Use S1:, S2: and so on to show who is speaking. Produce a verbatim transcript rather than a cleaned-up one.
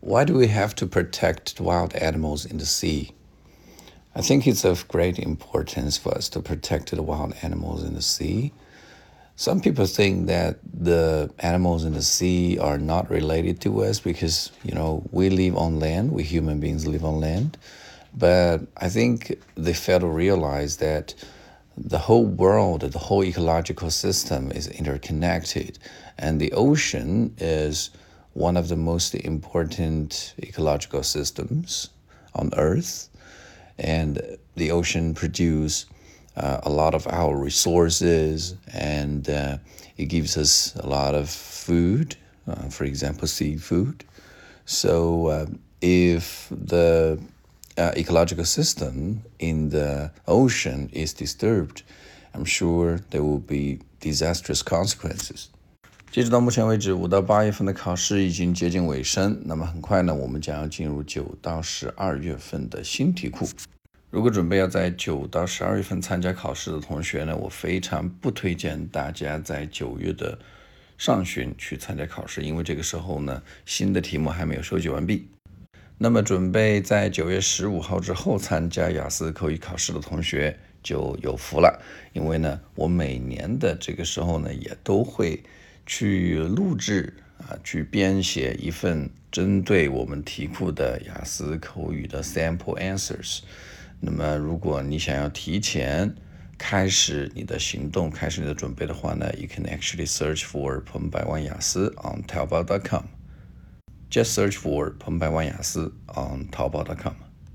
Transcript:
S1: Why do we have to protect wild animals in the sea? I think it's of great importance for us to protect the wild animals in the sea. Some people think that the animals in the sea are not related to us because, you know, we live on land, we human beings live on land. But I think they fail to realize that the whole world, the whole ecological system is interconnected, and the ocean is one of the most important ecological systems on Earth. And the ocean produces uh, a lot of our resources, and uh, it gives us a lot of food, uh, for example, seafood. So uh, if the uh, ecological system in the ocean is disturbed, I'm sure there will be disastrous consequences. 截止到目前为止，五到八月份的考试已经接近尾声，那么很快呢，我们将要进入九到十二月份的新题库。如果准备要在九到十二月份参加考试的同学呢，我非常不推荐大家在九月的上旬去参加考试，因为这个时候呢，新的题目还没有收集完毕。那么准备在九月十五号之后参加雅思口语考试的同学就有福了，因为呢，我每年的这个时候呢，也都会去录制啊，去编写一份针对我们题库的雅思口语的 sample answers。那么如果你想要提前开始你的行动，开始你的准备的话呢， you can actually search for 彭百万雅思 on 淘宝 dot com。 Just search for 彭百万雅思 on 淘宝 dot com。